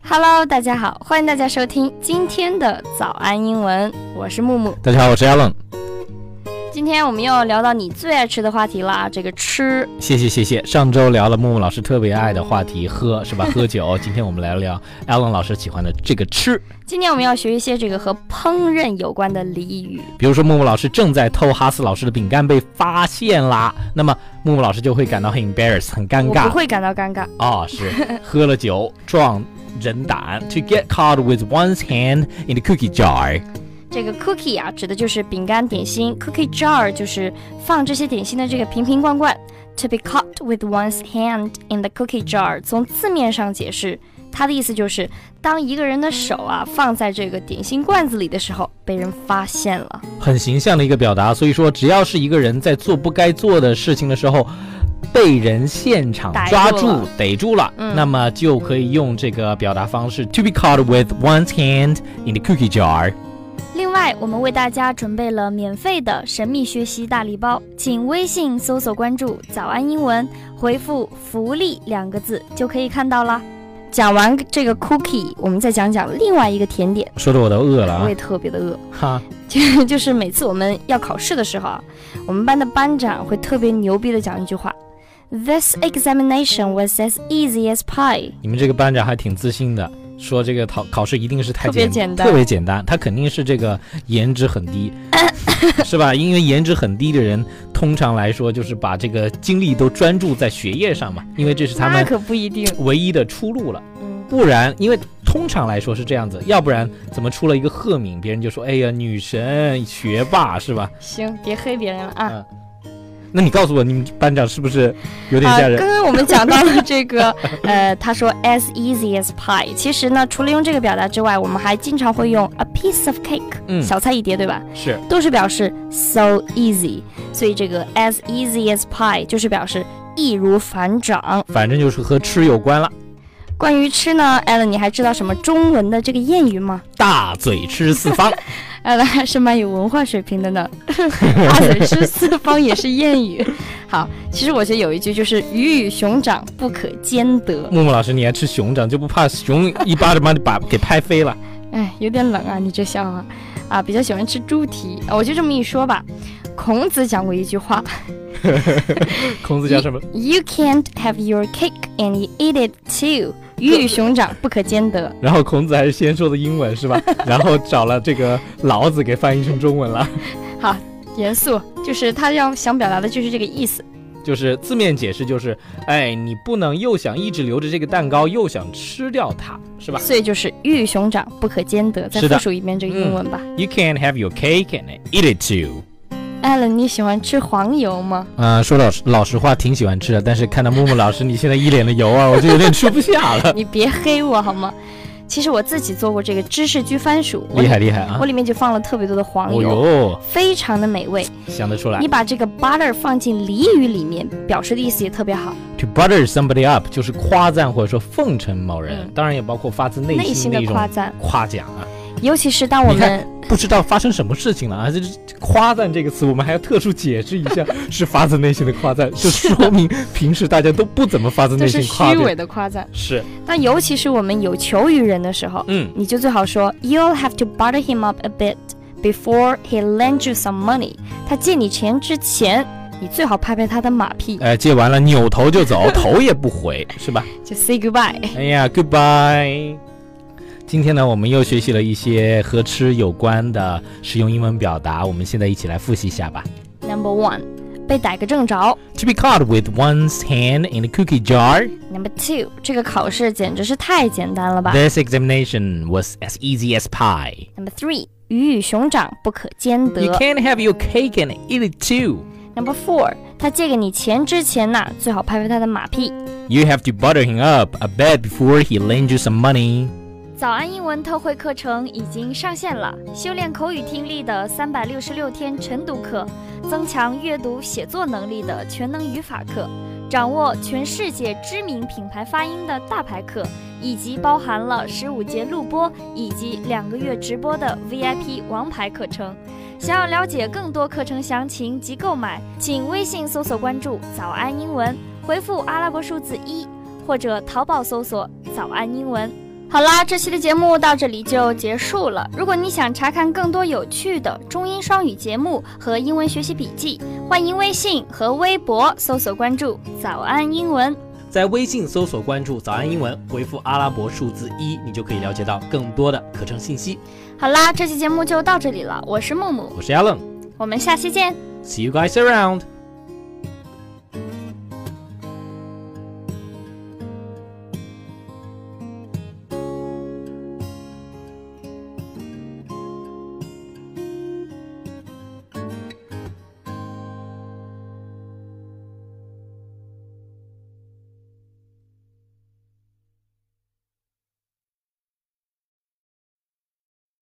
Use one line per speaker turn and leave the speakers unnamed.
Hello， 大家好，欢迎大家收听今天的早安英文，我是木木。
大家好，我是 Alan。
今天我们又聊到你最爱吃的话题啦，这个吃。
谢谢。上周聊了木木老师特别爱的话题，喝是吧？喝酒。今天我们来聊 Alan 老师喜欢的这个吃。
今天我们要学一些这个和烹饪有关的俚语。
比如说木木老师正在偷哈斯老师的饼干被发现啦，那么木木老师就会感到很 embarrassed， 很尴尬。
我不会感到尴尬。
哦，是喝了酒壮人胆 to get caught with one's hand in the cookie jar。
这个 cookie 啊，指的就是饼干点心 ，cookie jar 就是放这些点心的这个瓶瓶罐罐。To be caught with one's hand in the cookie jar， 从字面上解释，它的意思就是当一个人的手啊放在这个点心罐子里的时候，被人发现了。
很形象的一个表达，所以说只要是一个人在做不该做的事情的时候，被人现场抓住逮住了，那么就可以用这个表达方式 to be caught with one's hand in the cookie jar。
另外，我们为大家准备了免费的神秘学习大礼包，请微信搜索关注早安英文，回复福利2个字就可以看到了。讲完这个 cookie， 我们再讲讲另外一个甜点。
说的我都饿了啊！
我也特别的饿
哈。
就是每次我们要考试的时候啊，我们班的班长会特别牛逼的讲一句话 ：This examination was as easy as pie。
你们这个班长还挺自信的。说这个考试一定是特别简单，他肯定是这个颜值很低，是吧？因为颜值很低的人，通常来说就是把这个精力都专注在学业上嘛，因为这是他们
可不一定
唯一的出路了。不然，因为通常来说是这样子，要不然怎么出了一个赫敏，别人就说哎呀女神学霸是吧？
行，别黑别人了啊。
那你告诉我，你们班长是不是有点吓人？
刚刚我们讲到了这个，他说 as easy as pie。其实呢，除了用这个表达之外，我们还经常会用 a piece of cake，小菜一碟，对吧？
是，
都是表示 so easy。所以这个 as easy as pie 就是表示易如反掌，
反正就是和吃有关了。
关于吃呢 ，Alan， 你还知道什么中文的这个谚语吗？
大嘴吃四方。
Alan 还是蛮有文化水平的呢。大嘴吃四方也是谚语。好，其实我觉得有一句就是鱼与熊掌不可兼得。
木木老师，你还吃熊掌，就不怕熊一巴掌把你给拍飞了？
哎，有点冷啊，你这笑话啊，比较喜欢吃猪蹄。我就这么一说吧。孔子讲过一句话。
孔子讲什么
？You can't have your cake and you eat it too。鱼与熊掌不可兼得。
然后孔子还是先说的英文是吧？然后找了这个老子给翻译成中文了。
好，严肃，就是他想表达的就是这个意思。
就是字面解释就是，哎，你不能又想一直留着这个蛋糕，又想吃掉它，是吧？
所以就是鱼与熊掌不可兼得。再复述一遍这个英文吧。
You can't have your cake and eat it too。
Alan， 你喜欢吃黄油吗？
说老实话，挺喜欢吃的。但是看到木木老师你现在一脸的油啊，我就有点吃不下了。
你别黑我好吗？其实我自己做过这个芝士焗番薯，
厉害啊！
我里面就放了特别多的黄油，非常的美味，
想得出来。
你把这个 butter 放进俚语里面，表示的意思也特别好。
To butter somebody up 就是夸赞或者说奉承某人，当然也包括发自内心的一种夸奖啊。
尤其是当我们
不知道发生什么事情了啊，这夸赞这个词我们还要特殊解释一下，是发自内心的夸赞，就说明平时大家都不怎么发自内心夸赞，
都是虚伪的夸赞。
是。
但尤其是我们有求于人的时候，你就最好说 You'll have to butter him up a bit before he lends you some money。他借你钱之前，你最好拍拍他的马屁。
借完了扭头就走，头也不回，是吧？
就 say goodbye。
哎呀 ，goodbye。今天呢，我们又学习了一些和吃有关的实用英文表达，我们现在一起来复习一下吧。
Number 1， 被逮个正着。
To be caught with one's hand in a cookie jar.
Number 2， 这个考试简直是太简单了吧。
This examination was as easy as pie.
Number 3， 鱼与熊掌不可兼得。
You can't have your cake and eat it too.
Number 4， 他借给你钱之前呢，最好拍拍他的马屁。
You have to butter him up a bit before he lends you some money.
早安英文特惠课程已经上线了，修炼口语听力的366天晨读课，增强阅读写作能力的全能语法课，掌握全世界知名品牌发音的大牌课，以及包含了15节录播以及2个月直播的 VIP 王牌课程。想要了解更多课程详情及购买，请微信搜索关注早安英文，回复阿拉伯数字1，或者淘宝搜索早安英文。 好啦，这期的节目到这里就结束了。如果你想查看更多有趣的中英双语节目和英文学习笔记，欢迎微信和微博搜索关注早安英文。
在微信搜索关注早安英文，回复阿拉伯数字1，你就可以了解到更多的课程信息。
好啦，这期节目就到这里了，我是木木，
我是 Alan，
我们下期见。
See you guys around.